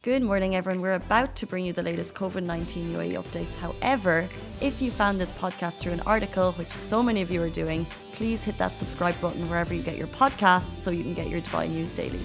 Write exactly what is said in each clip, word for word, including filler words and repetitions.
Good morning, everyone. We're about to bring you the latest COVID nineteen U A E updates. However, if you found this podcast through an article, which so many of you are doing, please hit that subscribe button wherever you get your podcasts so you can get your Dubai news daily.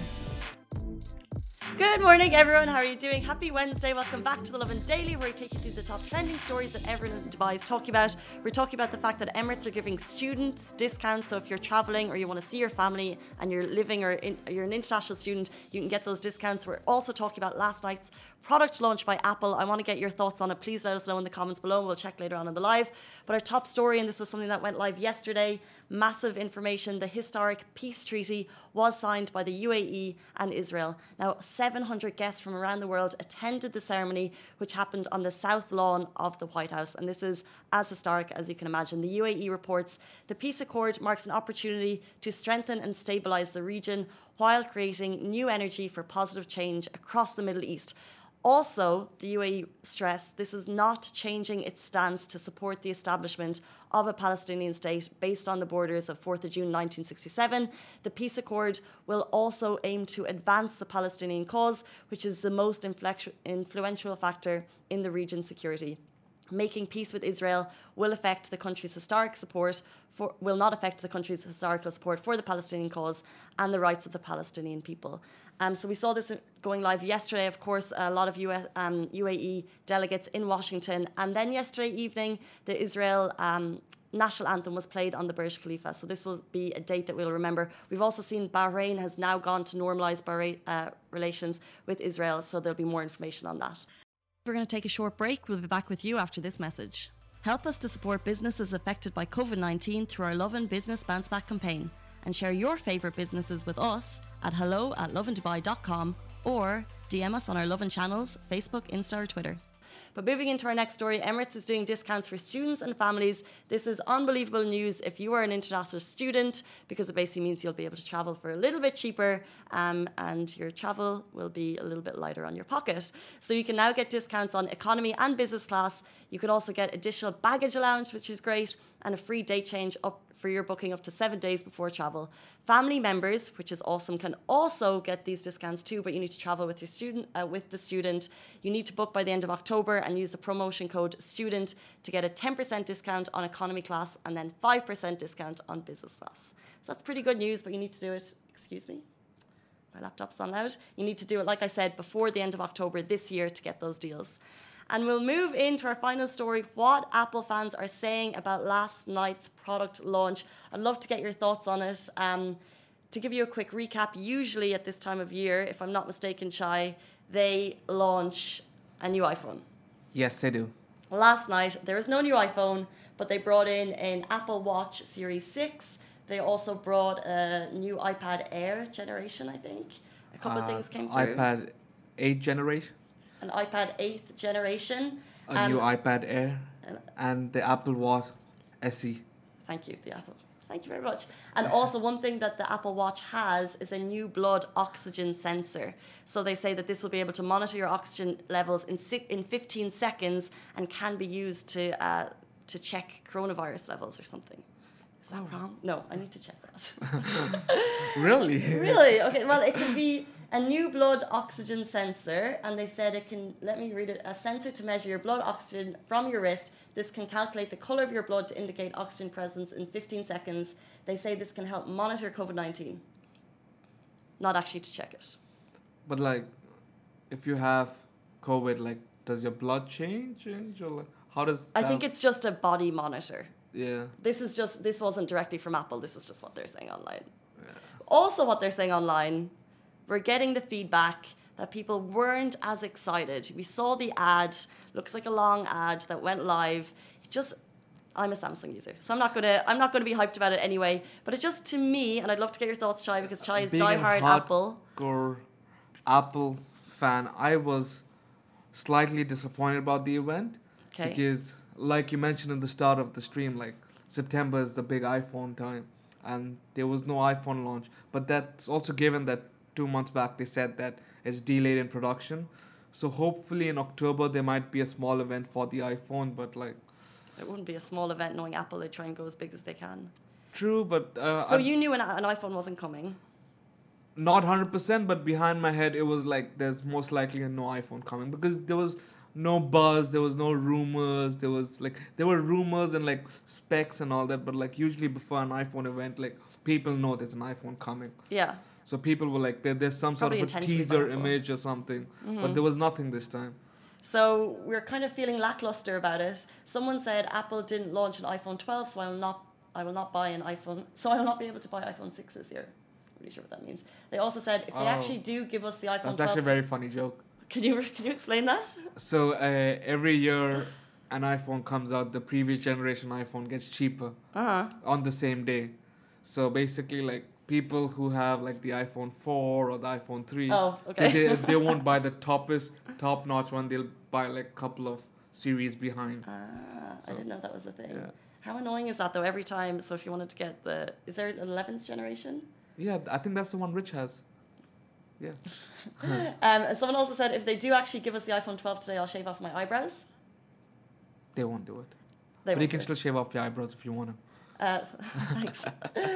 Good morning, everyone. How are you doing? Happy Wednesday. Welcome back to the Lovin Daily, where we take you through the top trending stories that everyone in Dubai is talking about. We're talking about the fact that Emirates are giving students discounts. So if you're traveling or you want to see your family and you're living or in, you're an international student, you can get those discounts. We're also talking about last night's product launch by Apple. I want to get your thoughts on it. Please let us know in the comments below, and we'll check later on in the live. But our top story, and this was something that went live yesterday, massive information: the historic peace treaty was signed by the U A E and Israel. Now, seven hundred guests from around the world attended the ceremony, which happened on the south lawn of the White House. And this is as historic as you can imagine. The U A E reports the peace accord marks an opportunity to strengthen and stabilize the region while creating new energy for positive change across the Middle East. Also, the U A E stressed this is not changing its stance to support the establishment of a Palestinian state based on the borders of fourth of June nineteen sixty-seven. The peace accord will also aim to advance the Palestinian cause, which is the most inflexu- influential factor in the region's security. Making peace with Israel will affect the country's historic support for, will not affect the country's historical support for the Palestinian cause and the rights of the Palestinian people. Um, so we saw this going live yesterday. Of course, a lot of U S, um, U A E delegates in Washington. And then yesterday evening, the Israel um, national anthem was played on the Burj Khalifa. So this will be a date that we'll remember. We've also seen Bahrain has now gone to normalise Bahrain uh, relations with Israel. So there'll be more information on that. We're going to take a short break. We'll be back with you after this message. Help us to support businesses affected by COVID nineteen through our Lovin Business Bounce Back campaign, and share your favourite businesses with us at hello at lovindubai dot com or D M us on our Lovin channels, Facebook, Insta or Twitter. But moving into our next story, Emirates is doing discounts for students and families. This is unbelievable news if you are an international student, because it basically means you'll be able to travel for a little bit cheaper um, and your travel will be a little bit lighter on your pocket. So you can now get discounts on economy and business class. You can also get additional baggage allowance, which is great, and a free date change up for your booking up to seven days before travel. Family members, which is awesome, can also get these discounts too, but you need to travel with your student, uh, with the student. You need to book by the end of October and use the promotion code STUDENT to get a ten percent discount on economy class and then five percent discount on business class. So that's pretty good news, but you need to do it, excuse me, my laptop's on loud. You need to do it, like I said, before the end of October this year to get those deals. And we'll move into our final story, what Apple fans are saying about last night's product launch. I'd love to get your thoughts on it. Um, to give you a quick recap, usually at this time of year, if I'm not mistaken, Shai, they launch a new iPhone. Yes, they do. Last night, there was no new iPhone, but they brought in an Apple Watch Series six. They also brought a new iPad Air generation, I think. A couple uh, of things came through. iPad eight generation. An iPad eighth generation. A um, new iPad Air. and, And the Apple Watch S E. Thank you, the Apple. Thank you very much. And also one thing that the Apple Watch has is a new blood oxygen sensor. So they say that this will be able to monitor your oxygen levels in si- in fifteen seconds and can be used to uh, to check coronavirus levels or something. Is that oh. wrong? No, I need to check that. Really? Really? Okay, well, it can be a new blood oxygen sensor, and they said it can, let me read it, a sensor to measure your blood oxygen from your wrist. This can calculate the colour of your blood to indicate oxygen presence in fifteen seconds. They say this can help monitor COVID nineteen, not actually to check it. But like, if you have COVID, like, does your blood change? Or like, how does I think it's just a body monitor. Yeah. This is just, this wasn't directly from Apple. This is just what they're saying online. Yeah. Also what they're saying online, we're getting the feedback that people weren't as excited. We saw the ad, looks like a long ad that went live. It just, I'm a Samsung user, so I'm not gonna, I'm not gonna be hyped about it anyway. But it just, to me, and I'd love to get your thoughts, Chai, because Chai is Being diehard a Apple. hardcore Apple fan, I was slightly disappointed about the event. Okay. Because, like you mentioned in the start of the stream, like September is the big iPhone time, and there was no iPhone launch. But that's also given that two months back they said that it's delayed in production. So hopefully in October there might be a small event for the iPhone, but like... It wouldn't be a small event knowing Apple. They try and go as big as they can. True, but... Uh, so I, you knew an, an iPhone wasn't coming? not one hundred percent, but behind my head, it was like there's most likely a no iPhone coming because there was no buzz, there was no rumors, there was like there were rumors and like specs and all that, but like usually before an iPhone event, like people know there's an iPhone coming. Yeah. So people were like, there, there's some Probably sort of a intentionally teaser vulnerable. image or something, Mm-hmm. but there was nothing this time. So we're kind of feeling lackluster about it. Someone said Apple didn't launch an iPhone twelve, so I will not I will not buy an iPhone. So I will not be able to buy iPhone six this year. Really sure what that means. They also said if they Oh. actually do give us the iPhone That's twelve, actually a very funny joke. can you can you explain that? So uh, every year an iPhone comes out, the previous generation iPhone gets cheaper Uh huh. on the same day. So basically, like people who have like the iPhone four or the iPhone three, Oh, okay. they, they won't buy the toppest, top notch one. They'll buy like a couple of series behind. Ah, I So, didn't know that was a thing. Yeah. How annoying is that though? Every time, so if you wanted to get the, is there an eleventh generation? Yeah, I think that's the one Rich has. Yeah. Um, and someone also said if they do actually give us the iPhone twelve today, I'll shave off my eyebrows. They won't do it. They but you won't can do it. still shave off your eyebrows if you want to. Uh, thanks.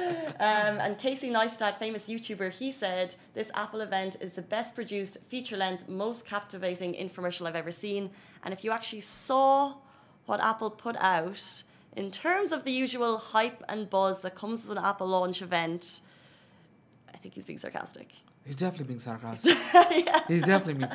um, and Casey Neistat, famous YouTuber, he said, this Apple event is the best produced, feature-length, most captivating infomercial I've ever seen. And if you actually saw what Apple put out, in terms of the usual hype and buzz that comes with an Apple launch event, I think he's being sarcastic. He's definitely being sarcastic. Yeah. He's definitely being...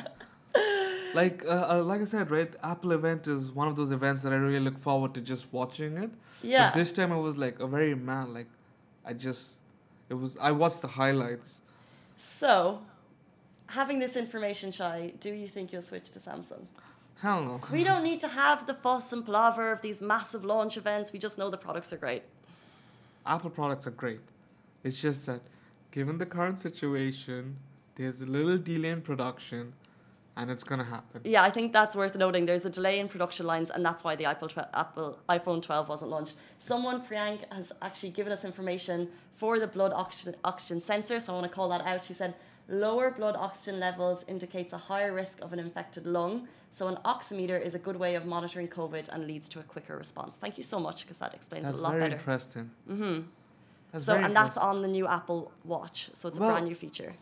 Like, uh, uh, like I said, right? Apple event is one of those events that I really look forward to just watching it. Yeah. But this time it was like a very man, like, I just, it was, I watched the highlights. So, having this information, Shai, do you think you'll switch to Samsung? Hell no. We don't need to have the fuss and palaver of these massive launch events. We just know the products are great. Apple products are great. It's just that, given the current situation, there's a little delay in production, and it's gonna happen. Yeah, I think that's worth noting. There's a delay in production lines, and that's why the Apple, tw- Apple iPhone twelve wasn't launched. Someone, Priyank, has actually given us information for the blood oxygen, oxygen sensor, so I want to call that out. She said, lower blood oxygen levels indicates a higher risk of an infected lung, so an oximeter is a good way of monitoring COVID and leads to a quicker response. Thank you so much, because that explains That's it a lot very better. interesting. Mm-hmm. That's So, very and that's interesting. on the new Apple Watch, so it's a Well, brand new feature.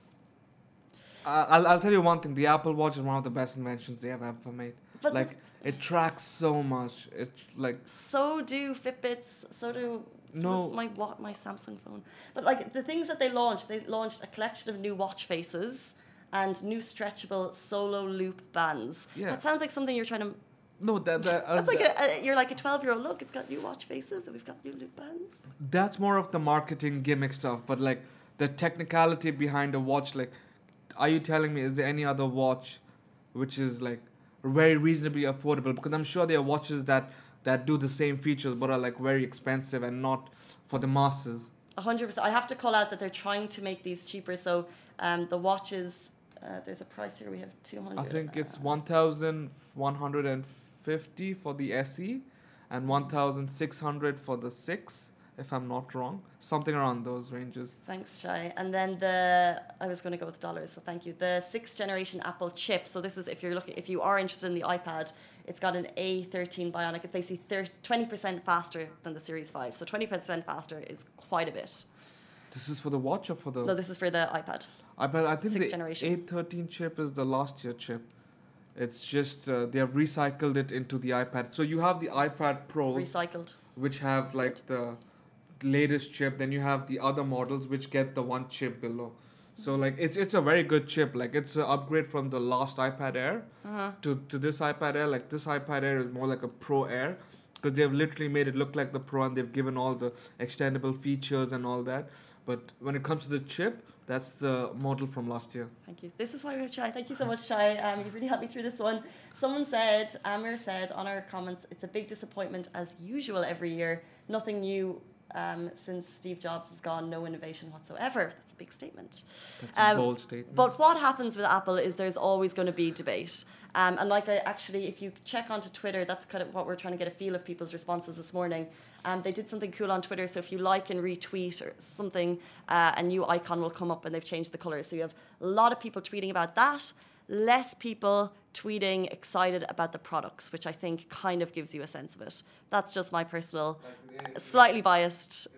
Uh, I'll, I'll tell you one thing. The Apple Watch is one of the best inventions they have ever made. But like, it tracks so much. It, like, So do Fitbits, so do so No. does my wa- my Samsung phone. But like the things that they launched, they launched a collection of new watch faces and new stretchable solo loop bands. Yeah. That sounds like something you're trying to. no, that, that, uh, That's like that- a, a you're like a twelve year old. Look, it's got new watch faces and we've got new loop bands. that's more of the marketing gimmick stuff. But, like, the technicality behind a watch, like, are you telling me, is there any other watch which is, like, very reasonably affordable? Because I'm sure there are watches that, that do the same features but are, like, very expensive and not for the masses. A hundred percent. I have to call out that they're trying to make these cheaper. So um, the watches, uh, there's a price here. We have two hundred. I think it's one thousand one hundred fifty for the S E and one thousand six hundred for the six, if I'm not wrong. Something around those ranges. Thanks, Shai. And then the I was going to go with dollars, so thank you. The sixth generation Apple chip. So this is if you're looking, if you are interested in the iPad, it's got an A thirteen Bionic. It's basically twenty percent faster than the Series five. So twenty percent faster is quite a bit. This is for the watch or for the... No, this is for the iPad. I bet I think Sixth the generation. A thirteen chip is the last year chip. It's just uh, they have recycled it into the iPad. So you have the iPad Pros, Recycled. which have like the latest chip. Then you have the other models which get the one chip below. So like it's it's a very good chip. Like it's an upgrade from the last iPad Air Uh-huh. to to this iPad Air. Like this iPad Air is more like a Pro Air because they've literally made it look like the Pro and they've given all the extendable features and all that. But when it comes to the chip, that's the model from last year. Thank you. This is why we have Chai. Thank you so much, Chai. Um, you've really helped me through this one. Someone said, Amir said on our comments, it's a big disappointment as usual every year. Nothing new um, since Steve Jobs is gone. No innovation whatsoever. That's a big statement. That's a Um, bold statement. But what happens with Apple is there's always going to be debate. Um, and like I actually, if you check onto Twitter, that's kind of what we're trying to get a feel of people's responses this morning. Um, they did something cool on Twitter. So if you like and retweet or something, uh, a new icon will come up and they've changed the colors. So you have a lot of people tweeting about that, less people tweeting excited about the products, which I think kind of gives you a sense of it. That's just my personal, slightly biased. It's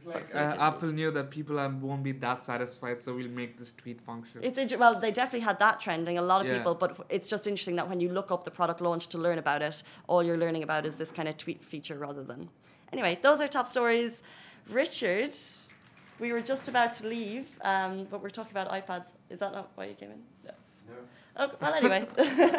Like, uh, Apple knew that people are, won't be that satisfied, so we'll make this tweet function. It's inter- well, they definitely had that trending. A lot of Yeah. people, but it's just interesting that when you look up the product launch to learn about it, all you're learning about is this kind of tweet feature rather than. Anyway, those are top stories. Richard, we were just about to leave, um, but we're talking about iPads. Is that not why you came in? No. No. Oh, well, anyway.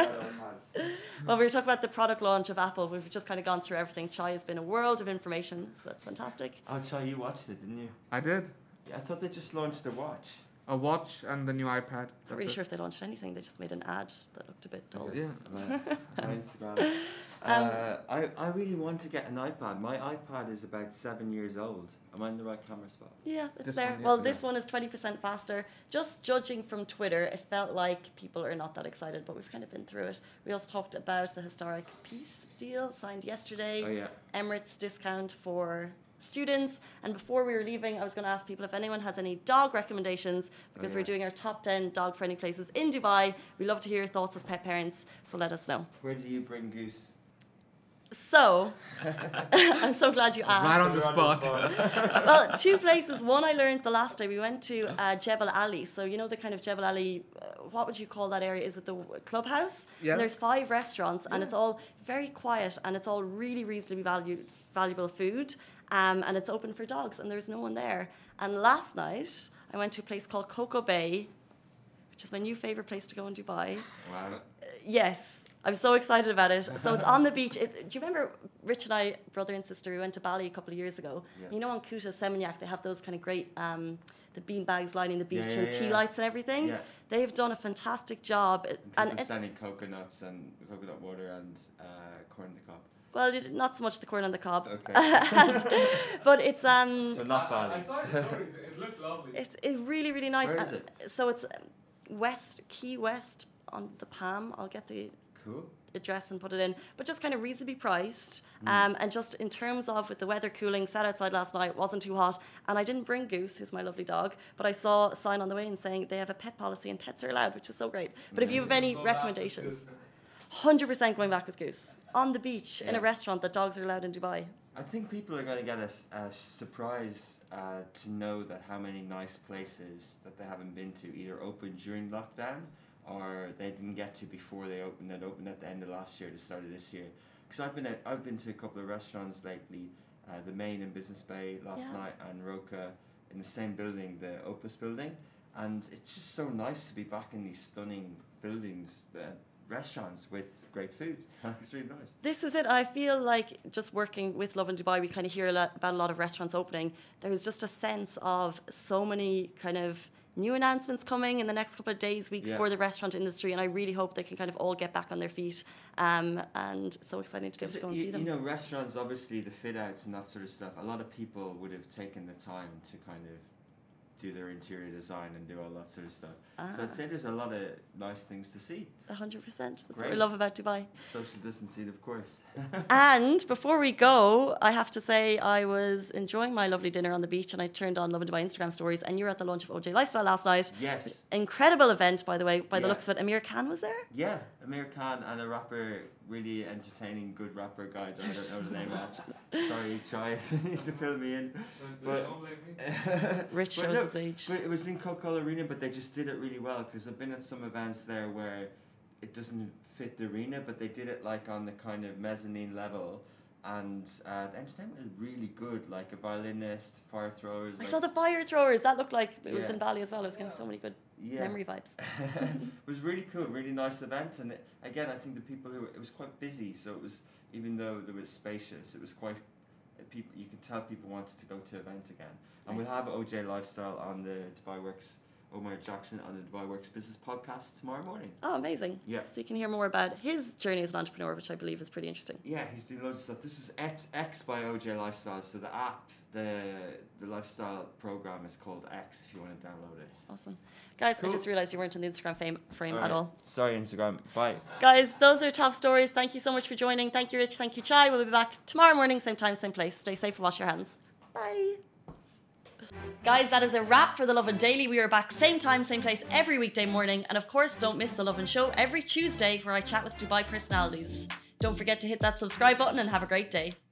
Well, we were talking about the product launch of Apple. We've just kind of gone through everything. Chai has been a world of information, so that's fantastic. Oh, Chai, you watched it, didn't you? I did. Yeah, I thought they just launched their watch. A watch and the new iPad. Not That's really it. sure if they launched anything. They just made an ad that looked a bit dull. Yeah. My Instagram. Uh, I, I really want to get an iPad. My iPad is about seven years old. Am I in the right camera spot? Yeah, it's This there. one, yeah. Well, Yeah. this one is twenty percent faster. Just judging from Twitter, it felt like people are not that excited, but we've kind of been through it. We also talked about the historic peace deal signed yesterday. Oh, yeah. Emirates discount for students. And before we were leaving, I was going to ask people if anyone has any dog recommendations, because Oh, we're yeah. doing our top ten dog-friendly places in Dubai. We love to hear your thoughts as pet parents, so let us know. Where do you bring Goose? So, I'm so glad you asked. Right on the spot. Well, two places. One I learned the last day. We went to uh, Jebel Ali. So you know the kind of Jebel Ali. Uh, what would you call that area? Is it the w- clubhouse? Yeah. And there's five restaurants, and it's all very quiet, and it's all really reasonably valued, valuable food. Um, and it's open for dogs, and there's no one there. And last night I went to a place called Coco Bay, which is my new favorite place to go in Dubai. Wow. Uh, yes. I'm so excited about it. So it's on the beach. It, do you remember Rich and I, brother and sister, we went to Bali a couple of years ago. Yeah. You know, on Kuta, Seminyak, they have those kind of great, um, the bean bags lining the beach Yeah, yeah, and tea yeah. lights and everything. Yeah. They've done a fantastic job. It- And and people it, selling coconuts and coconut water and uh, corn in the cob. well, it- not so much the corn on the cob. Okay. And- but it's um, So not Bali. I saw the stories. It looked lovely. it's it's really really nice. Where is And so it's um, West Key West on the Palm. I'll get the Cool. address and put it in, but just kind of reasonably priced. Mm. Um, and just in terms of with the weather cooling, sat outside last night, wasn't too hot, and I didn't bring Goose, who's my lovely dog, but I saw a sign on the way in saying they have a pet policy and pets are allowed, which is so great. But if you have any recommendations, one hundred percent going back with Goose on the beach in a Yeah. restaurant that dogs are allowed in Dubai. I think people are going to get a, s- a surprise uh, to know that how many nice places that they haven't been to either opened during lockdown or they didn't get to before they opened. That opened at the end of last year, the start of this year. Because I've been at, I've been to a couple of restaurants lately, uh, the Main in Business Bay last Yeah. night and Roca in the same building, the Opus building, and it's just so nice to be back in these stunning buildings, uh, restaurants with great food. It's really nice. This is it. I feel like just working with Love in Dubai, we kind of hear a lot about a lot of restaurants opening. There's just a sense of so many kind of new announcements coming in the next couple of days, weeks Yeah. for the restaurant industry, and I really hope they can kind of all get back on their feet. Um, and so exciting to be able to go and you, see them. you know, restaurants, obviously, the fit outs and that sort of stuff, a lot of people would have taken the time to kind of do their interior design and do all that sort of stuff. So I'd Ah. say there's a lot of nice things to see. one hundred percent. That's what Great. we love about Dubai. Social distancing, of course. And before we go, I have to say I was enjoying my lovely dinner on the beach, and I turned on Love in Dubai Instagram stories, and you were at the launch of O J Lifestyle last night. Yes. Incredible event, by the way, by the Yeah. looks of it. Amir Khan was there? Yeah, Amir Khan and a rapper, really entertaining, good rapper guy that I don't know the name of. Sorry, Chai, you need to fill me in. But, Rich But shows no, his age. But it was in Coca-Cola Arena, but they just did it really well because I've been at some events there where it doesn't fit the arena, but they did it like on the kind of mezzanine level, and uh, the entertainment was really good, like a violinist, fire throwers. I like, saw the fire throwers. That looked like it was Yeah. in Bali as well. It was getting so many good yeah. memory vibes. It was really cool, really nice event, and it, again, I think the people who it was quite busy, so it was, even though it was spacious, it was quite. uh, People, you could tell people wanted to go to event again, and we'll Nice. have O J Lifestyle on the Dubai Works, Omar Jackson on the Dubai Works Business Podcast tomorrow morning. Oh, amazing. Yeah. So you can hear more about his journey as an entrepreneur, which I believe is pretty interesting. Yeah, he's doing loads of stuff. This was X, X by O J Lifestyle, so the app, the the lifestyle program is called X. If you want to download it. Awesome. Guys, Cool. I just realized you weren't in the Instagram fame, frame All at right. all. Sorry, Instagram. Bye. Guys, those are top stories. Thank you so much for joining. Thank you, Rich. Thank you, Chai. We'll be back tomorrow morning, same time, same place. Stay safe and wash your hands. Bye. Guys, that is a wrap for The Lovin Daily. We are back same time, same place every weekday morning. And of course, don't miss The Lovin Show every Tuesday where I chat with Dubai personalities. Don't forget to hit that subscribe button and have a great day.